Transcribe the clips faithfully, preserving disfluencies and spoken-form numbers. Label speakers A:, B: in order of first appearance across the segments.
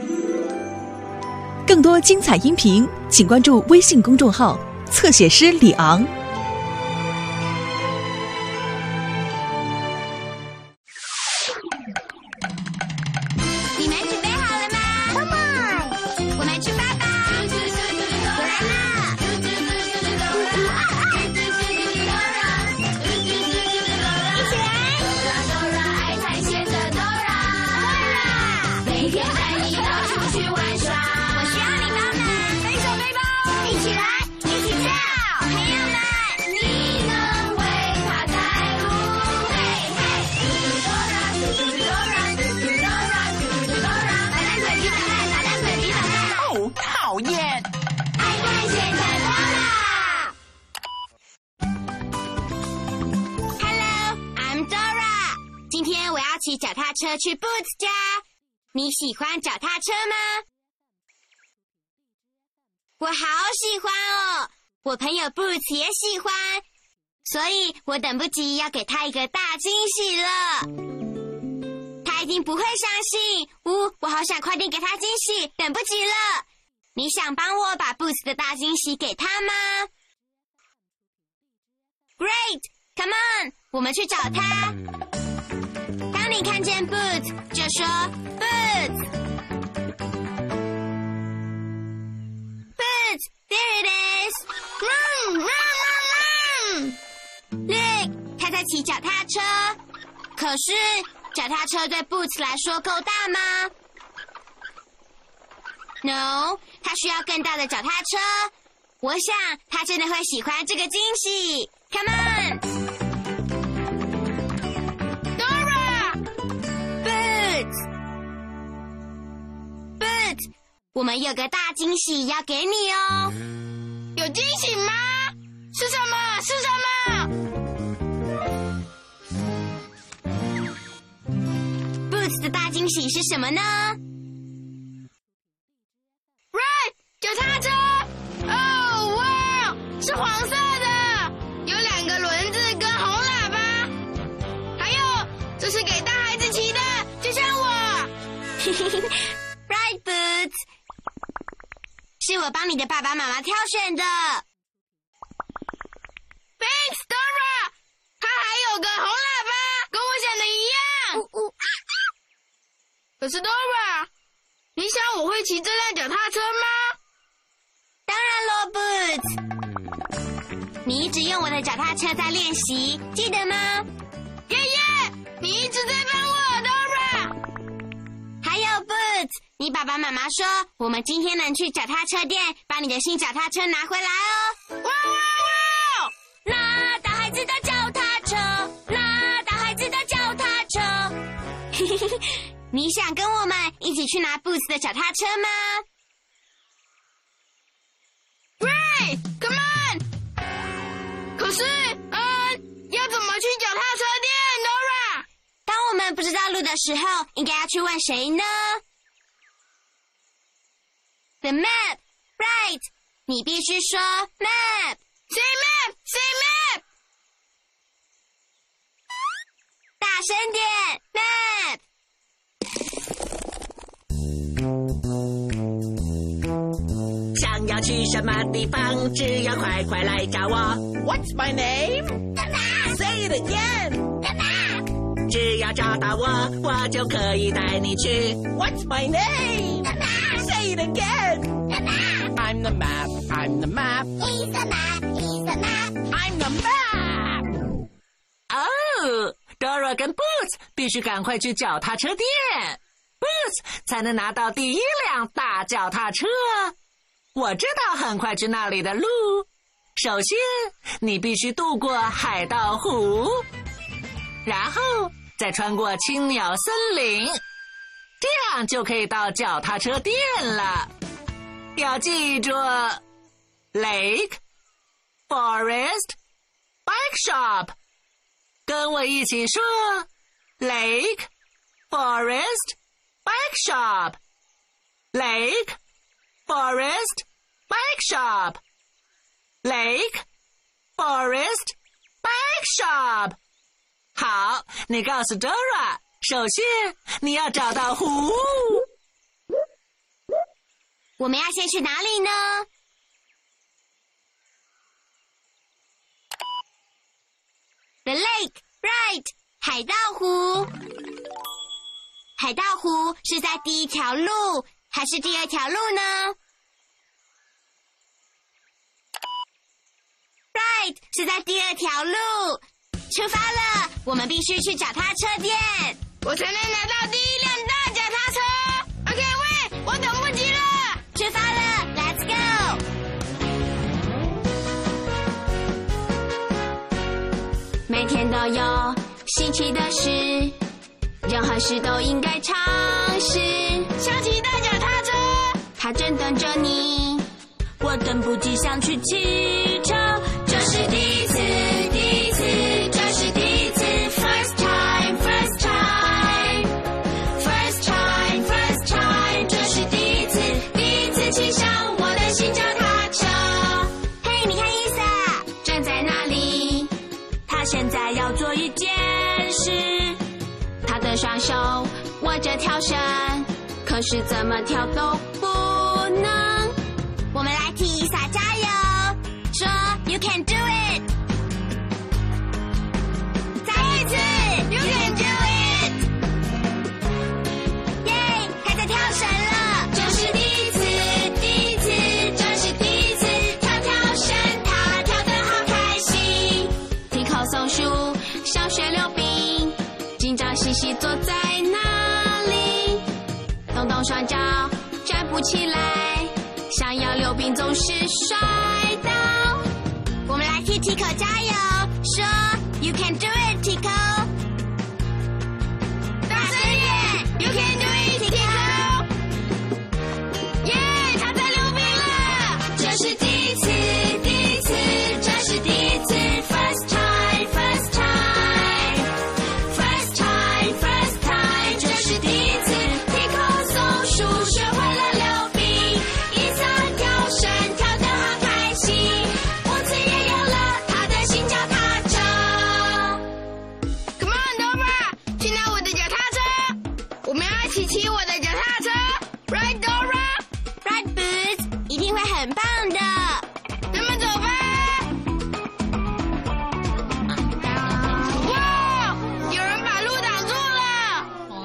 A: 更多精彩音频，请关注微信公众号“侧写师李昂”。
B: 你们准备好了吗
C: Come on，
B: 我们出发吧！我来啦！一起来！爱探险的 Dora， 每天带你到处去玩耍。我需要你帮忙，背手背包，一起来，一起跳！朋友们，你能为他带路？嘿嘿，嘟嘟 Dora， 嘟嘟 Dora， 嘟嘟 Dora， 打蛋腿比反带，打蛋腿比反带。
D: 哦，讨厌！
B: 爱探险的 Dora。Hello，I'm Dora。今天我要骑脚踏车去 Boots 家。你喜欢脚踏车吗？我好喜欢哦，我朋友 Boots 也喜欢，所以我等不及要给他一个大惊喜了。他一定不会相信，呜，我好想快点给他惊喜，等不及了。你想帮我把 Boots 的大惊喜给他吗 ？Great， come on， 我们去找他。当你看见 Boots， 就说 Boots。Boots，there it is！Run run run run！Look， 他在骑脚踏车。可是脚踏车对 Boots 来说够大吗 ？No， 他需要更大的脚踏车。我想他真的会喜欢这个惊喜。Come on！Boots，Boots，我们有个大惊喜要给你哦。
C: 有惊喜吗？是什么？是什么
B: ？Boots 的大惊喜是什么呢
C: ？Right， 脚踏车！哦，哇，是黄色的，有两个轮子跟红喇叭，还有这是给大孩子骑的，就像我。
B: Right, Boots， 是我帮你的爸爸妈妈挑选的。
C: Thanks, Dora。它还有个红喇叭，跟我想的一样。
B: 呜呜
C: 可是 Dora， 你想我会骑这辆脚踏车吗？
B: 当然咯 ，Boots。你一直用我的脚踏车在练习，记得吗？
C: 耶耶，你一直在帮我 ，Dora。
B: 还有 Boots， 你爸爸妈妈说我们今天能去脚踏车店把你的新脚踏车拿回来哦。
C: 哇哇哇！
B: 那大孩子的脚踏车，那大孩子的脚踏车。你想跟我们一起去拿 Boots 的脚踏车吗
C: ？Right, come on！ 可是，嗯，要怎么去脚踏车店 ，Dora？
B: 当我们不知道路的时候，应该要去问谁呢 ？The map, right？ 你必须说 map。Say
C: map, say map！
B: 大声点 ，map！
D: 想要去什么地方，只要快快来找我。What's my name?
B: The map.
D: Say it again.
B: The map.
D: 只要找到我，我就可以带你去。What's my name?
B: The map.
D: Say it again.
B: The map.
D: I'm the map. I'm the map.
B: He's the map. He's the map.
D: I'm the map. Oh, Dora 跟 Boots 必须赶快去脚踏车店 ，Boots 才能拿到第一辆大脚踏车。我知道很快去那里的路。首先，你必须渡过海盗湖，然后再穿过青鸟森林，这样就可以到脚踏车店了。要记住 ，Lake, Forest, Bike Shop。跟我一起说 ，Lake, Forest, Bike Shop。Lake, Forest, Bike Shop。Lake, Forest, Bike Shop。好，你告诉 Dora， 首先你要找到湖。
B: 我们要先去哪里呢？ The lake, right. 海盗湖。海盗湖是在第一条路还是第二条路呢？ Right， 是在第二条路。出发了，我们必须去脚踏车店，
C: 我才能拿到第一辆大脚踏车。OK， 喂，我等不及了。
B: 出发了 ，Let's go。每天都有新奇的事，任何事都应该尝试。
C: 想骑大脚踏车，
B: 它正等着你，我等不及想去骑车。这是第一次，第一次，这是第一次 ，first time, first time, first time, first time， 这是第一次，第一次骑上我的新脚踏车。嘿，你看伊莎站在那里，她现在要做一件事，她的双手握着跳绳，可是怎么跳都不能。我们来替伊莎加油，说 You can do it。再一次 You can do it。耶，她在跳绳了，这是第一次，第一次，这是第一次跳跳绳，她跳得好开心。提口松树，小雪溜冰，紧张兮兮坐在那里，动动双脚站不起来，想要溜冰总是摔倒。我们来替 Tico 加油，说 You can do it, Tico。大声点 ，You can do it, Tico。耶，他在溜冰了，这是第一次，第一次，这是第一次 ，first time, first time, first time, first time， 这是第一次 ，Tico 松树学会了溜冰。伊莎跳绳跳得好开心，我自也有了她的新脚踏车。
C: Come on, Dora， 去拿我的脚踏车。我们要一起骑我的脚踏车 ，Right, Dora？
B: Right Boots， 一定会很棒的。
C: 那么走吧。哇，有人把路挡住了。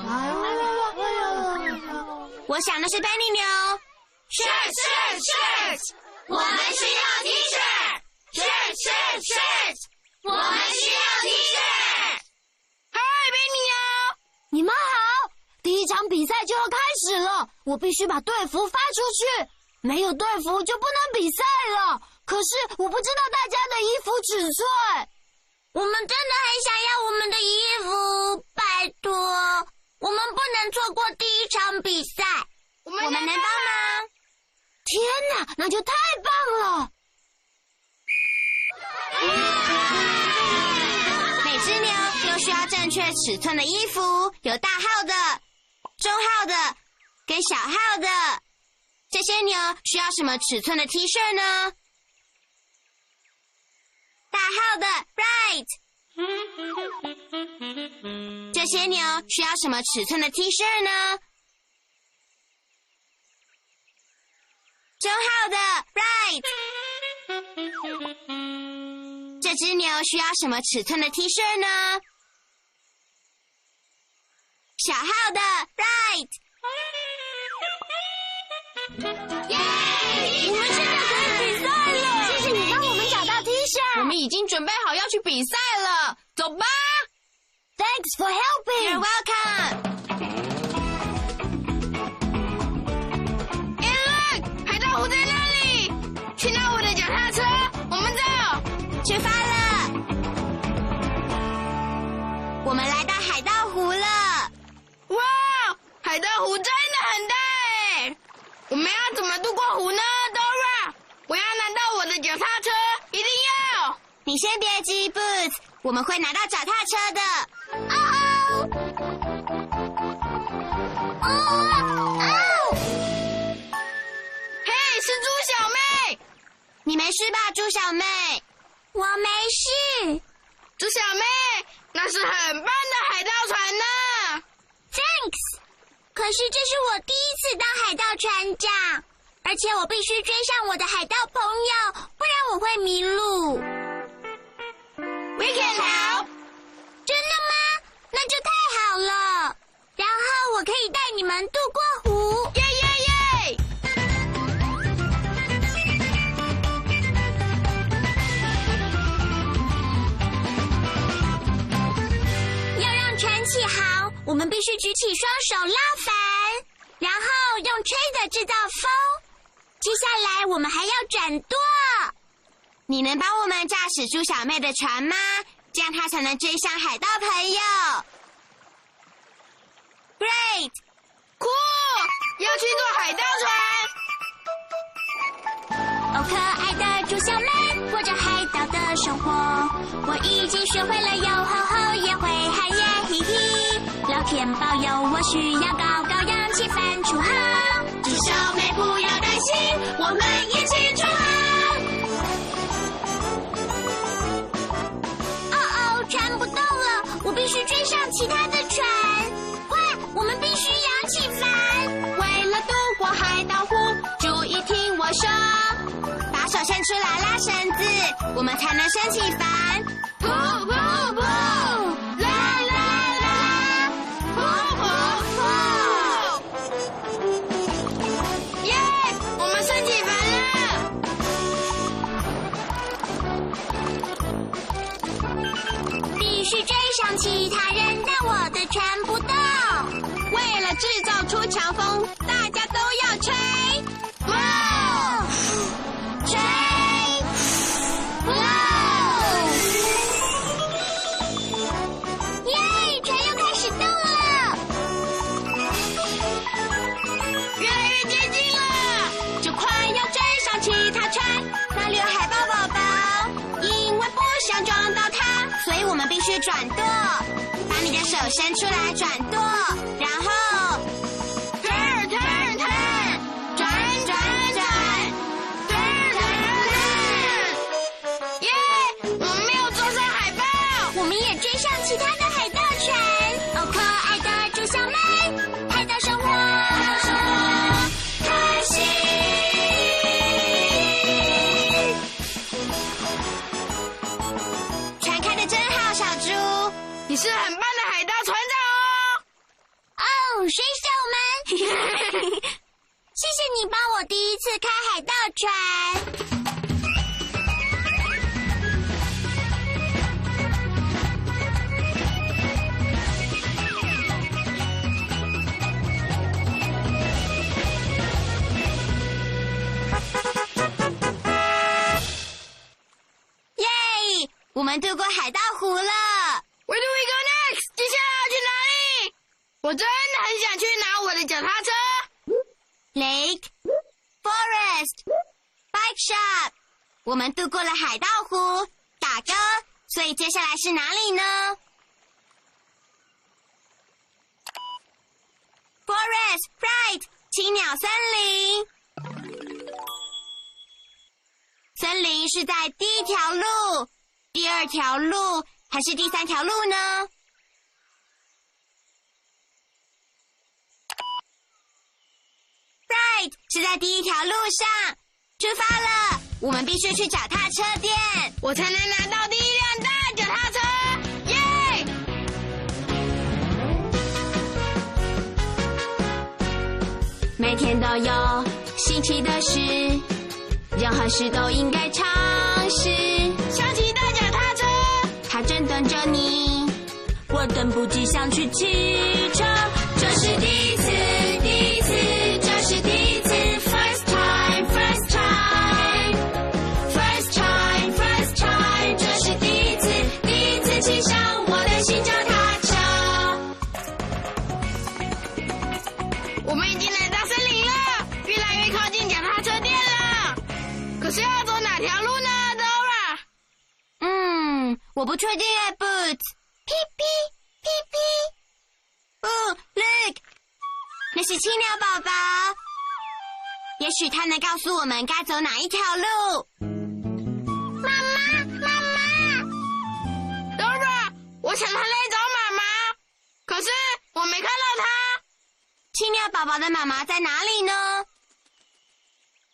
B: 我想的是 Benny 牛。
C: 是是是，
B: 我们需要 T 恤。
C: 是是是，
B: 我们需要 T 恤。
C: 嗨，贝尼哦。
E: 你们好，第一场比赛就要开始了，我必须把队服发出去，没有队服就不能比赛了。可是我不知道大家的衣服尺寸。
B: 我们真的很想要我们的衣服，拜托，我们不能错过第一场比赛。
C: 我们
B: 我们能帮忙？
E: 天哪，那就太棒了！
B: 每只牛都需要正确尺寸的衣服，有大号的、中号的跟小号的。这些牛需要什么尺寸的 T 恤呢？大号的 ，right。这些牛需要什么尺寸的 T 恤呢？中号的 ，right。这只牛需要什么尺寸的 T 恤呢？小号的 ，right。耶！
E: 我们现在可以比赛了！谢谢你帮我们找到 T 恤。
C: 我们已经准备好要去比赛了，走吧。
E: Thanks for helping.
B: You're welcome.
C: Hey look， 海盗湖在那里，去拿我的脚踏车，我们走。
B: 出发了。我们来到海盗湖了。
C: 哇，海盗湖真的很大哎！我们要怎么渡过湖呢 ，Dora？ 我要拿到我的脚踏车，一定要！
B: 你先别急 ，Boots， 我们会拿到脚踏车的。哦哦！哦哦！
C: 嘿，是猪小妹，
B: 你没事吧，猪小妹？我没事。
C: 猪小妹，那是很棒的海盗船呢。
B: Thanks。可是这是我第一次当海盗船长，而
E: 而且我必须追上我的海盗朋友，不然我会迷路。
C: We can help。
E: 真的吗？那就太好了。然后我可以带你们渡过湖。
C: 耶耶耶！
E: 要让船起航，我们必须举起双手拉帆，然后用吹的制造风。接下来我们还要转舵。
B: 你能帮我们驾驶猪小妹的船吗？这样她才能追上海盗朋友。Great，
C: 酷！要去坐海盗船。
E: 哦，可爱的猪小妹过着海盗的生活，我已经学会了有吼吼，也会喊耶嘿嘿。老天保佑，我需要高高扬起帆出航。
B: 猪小妹不要担心，我们一起出航。
E: 哦哦，船不动了，我必须追上其他的船。快，我们必须扬起帆。
B: 为了渡过海盗湖，注意听我说，把手伸出来拉绳子，我们才能升起帆。
C: 噗噗噗！啦啦啦！噗噗噗！耶！我们升起帆了。
E: 必须追上其他人，但我的船不动。
B: 为了制造出强风，大家都要吹。
E: 哇！吹！哇！耶！船又开始动了。
C: 越来越接近了，
B: 就快要追上其他船，那里有海豹宝宝。因为不想撞到它，所以我们必须转舵。把你的手伸出来转舵，然后
C: turn turn turn， 转转转 ，turn turn turn。耶！我们没有坐上海豹。
E: 我们也追上其他的海盗船。哦，可爱的猪小妹，海盗生活，开心。
B: 船开得真好，小猪。
C: 你是很棒的海盗船长
E: 哦，水手们，谢谢你帮我第一次开海盗船。
B: 耶！我们渡过海盗湖了。
C: Where do we go next？ 接下来要去哪里？我真的很想去拿我的脚踏车。
B: Lake, forest, bike shop。我们渡过了海盗湖，打勾。所以接下来是哪里呢 ？Forest, right， 青鸟森林。森林是在第一条路、第二条路还是第三条路呢？是在第一条路上，出发了。我们必须去脚踏车店，
C: 我才能拿到第一辆大脚踏车。耶！
B: 每天都有新奇的事，任何事都应该尝试。
C: 想骑大脚踏车，
B: 它正等着你，我等不及想去骑车。这是第一次，第一次，这是第一次。First time, first time, first time, first time， 这是第一次，第一次骑上我的新脚踏
C: 车。我们已经来到森林了，越来越靠近脚踏车店了。可是要走哪条路呢 ，Dora？
B: 嗯，我不确定耶 ，Boots。
E: 屁屁屁屁。
B: 哦 ，Look， 那是青鸟宝宝。也许它能告诉我们该走哪一条路。
E: 妈妈，妈妈
C: ，Dora， 我想他来找妈妈，可是我没看到他。
B: 青鸟宝宝的妈妈在哪里呢？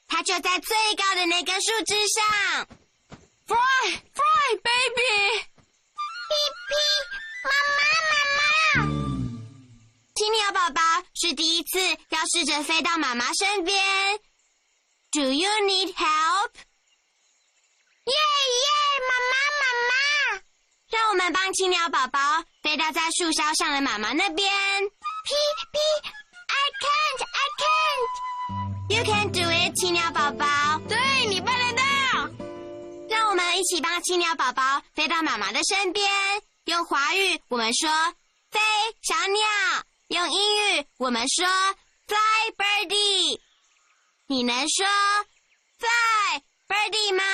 E: 它就在最高的那根树枝上。
C: Fry, Fry, baby！
B: 屁屁，妈妈，妈妈！
E: 青鸟宝宝是第一次要试着飞到妈妈身边。Do you need help？
B: 耶耶，妈妈，妈妈！
E: 让我们帮青鸟宝宝飞到在树梢上的妈妈那边。
B: 屁屁 ，I can't, I can't.
E: You can do it， 青鸟宝宝。
C: 对，你办得到。
E: 让我们一起帮青鸟宝宝飞到妈妈的身边。用华语我们说飞小鸟，用英语我们说 fly birdie。你能说 fly birdie 吗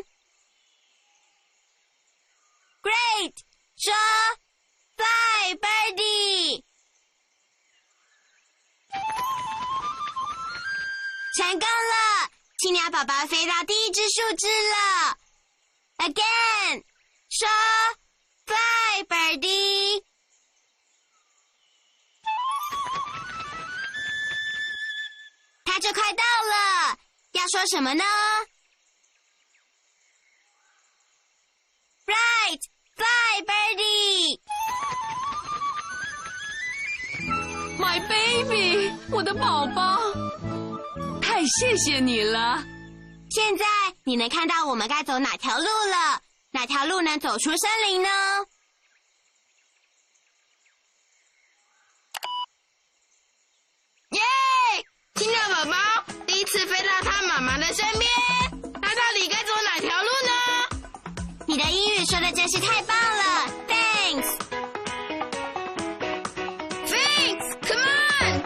E: ？Great， 说 fly birdie。成功了，青鸟宝宝飞到第一只树枝了。Again， 说 fly birdie。它就快到了，要说什么呢 ？Right, fly birdie。
C: My baby， 我的宝宝，太谢谢你了。
E: 现在你能看到我们该走哪条路了？哪条路能走出森林呢？
C: 耶！青鸟宝宝第一次飞到他妈妈的身边，他到底该走哪条路呢？
E: 你的英语说的真是太棒了 ，Thanks。
C: Thanks, come on！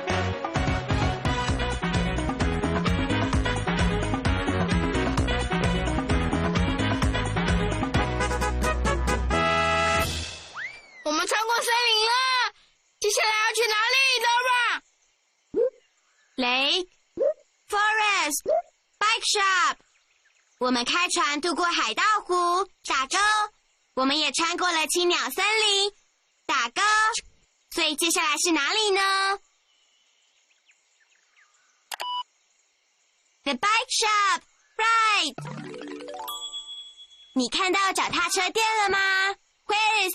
C: 我们穿过森林了，接下来要去哪里
E: Lake, forest, bike shop。我们开船渡过海盗湖、打沟，我们也穿过了青鸟森林、打沟。所以接下来是哪里呢 ？The bike shop, right。你看到脚踏车店了吗 ？Where is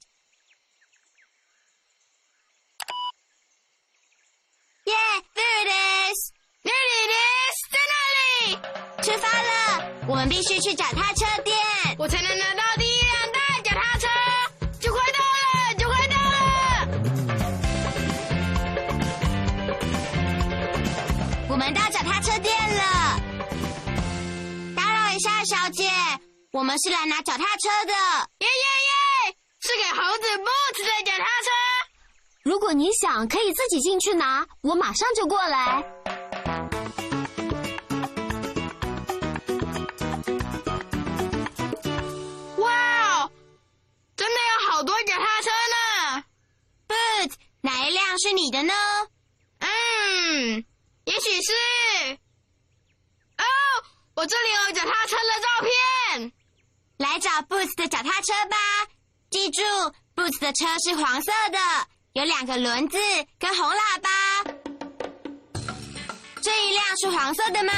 E: it？Yeah, there it is.
C: There it is， 在那里。
E: 出发了，我们必须去脚踏车店。
C: 我才能拿到第一辆大脚踏车，就快到了，就快到了。
E: 我们到脚踏车店了。打扰一下，小姐，我们是来拿脚踏车的。
C: 耶耶耶！是给猴子 Boots 的脚踏车。
F: 如果你想，可以自己进去拿，我马上就过来。
C: 哇哦，真的有好多脚踏车呢。
E: Boots， 哪一辆是你的呢？
C: 嗯，也许是。哦，我这里有脚踏车的照片。
E: 来找 Boots 的脚踏车吧。记住 ，Boots 的车是黄色的。有两个轮子跟红喇叭。这一辆是黄色的吗？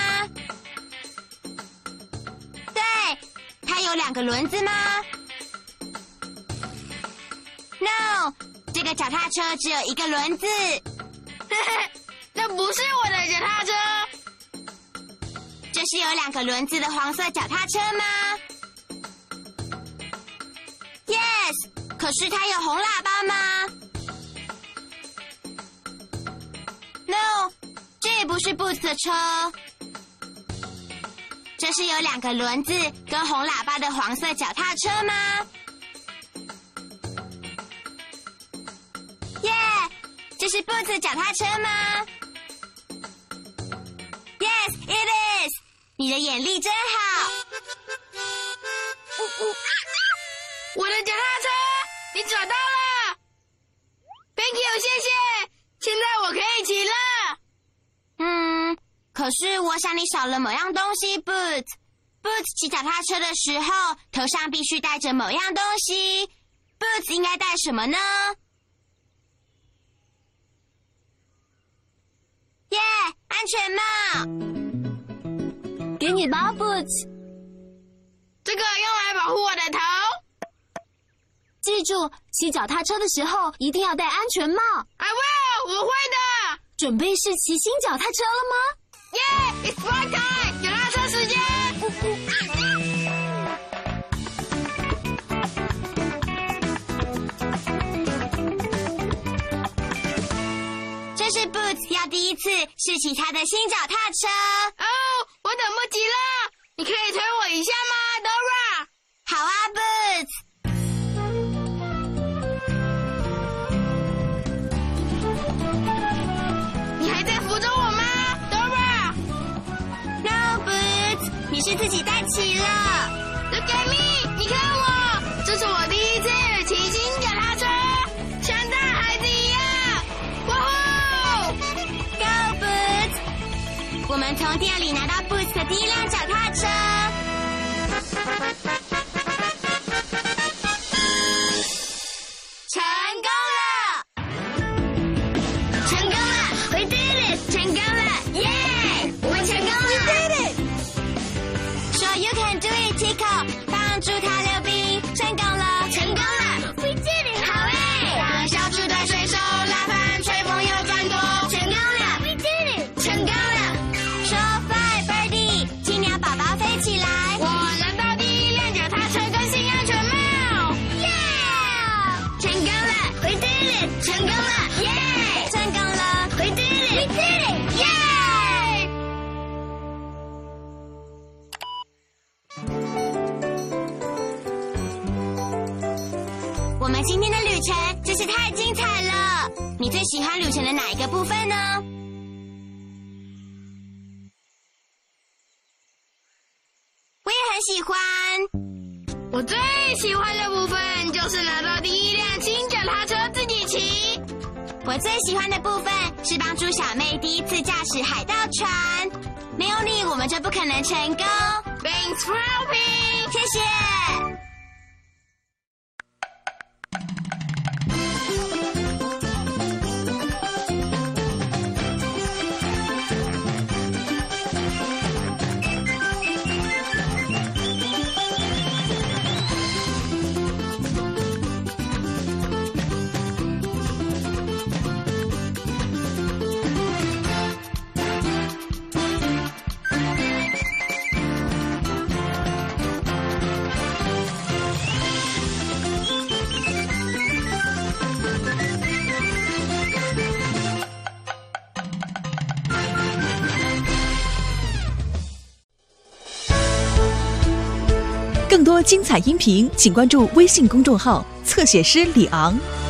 E: 对，它有两个轮子吗 ？No， 这个脚踏车只有一个轮子。
C: 那不是我的脚踏车。
E: 这是有两个轮子的黄色脚踏车吗 ？Yes， 可是它有红喇叭吗？No， 这也不是 Boots 的车。这是有两个轮子跟红喇叭的黄色脚踏车吗？耶、yeah, 这是 Boots 脚踏车吗 ？Yes, it is。你的眼力真好。
C: 我的脚踏车，你找到了。Thank you， 谢谢。现在我可以骑了。
E: 嗯，可是我想你少了某样东西 ，Boots。Boots 骑脚踏车的时候，头上必须戴着某样东西。Boots 应该戴什么呢？耶、yeah, 安全帽。
F: 给你吧 ，Boots。
C: 这个用来保护我的头。
F: 记住，骑脚踏车的时候一定要戴安全帽。
C: I will， 我会的。
F: 准备试骑新脚踏车了吗？
C: 耶 ，It's fun time， 脚踏车时间。
E: 这是 Boots 要第一次试骑他的新脚踏车。
C: 哦，我等不及了，你可以推我一下吗 ，Dora？
E: 好啊 ，Boots。
C: 你还在扶着我吗 ，Dora？
E: No Boots， 你是自己带骑了。
C: Look at me， 你看我，这是我第一次骑新脚踏车，像大孩子一样。哇呼
E: Go Boots！ 我们从店里拿到 Boots 的第一辆脚踏车。成功了！
C: 成功了 ，We did it！ 成功了，耶！我们成功了 ，We did it！
E: 说 You can do it, Tico， 帮助他溜冰，成功了，
C: 成功了 ，We did it！ 好诶！让小猪的水手拉帆，吹风又转动，成功了 ，We did it！ 成功了。
E: 说 Fly Birdie， 青鸟宝宝飞起来，
C: 我拿到第一辆脚踏车跟新安全帽，耶！成功了 ，We did it！ 成功了，耶！
E: 成功了，
C: We did it！ We did it！ 耶！
E: 我们今天的旅程真是太精彩了！你最喜欢旅程的哪一个部分呢？我也很喜欢。
C: 我最喜欢的部分就是拿到第一辆新脚踏车自己骑。
E: 我最喜欢的部分是帮助小妹第一次驾驶海盗船，没有你我们就不可能成功。
C: Thanks for helping！
E: 谢谢。
A: 更多精彩音频，请关注微信公众号“侧写师李昂”。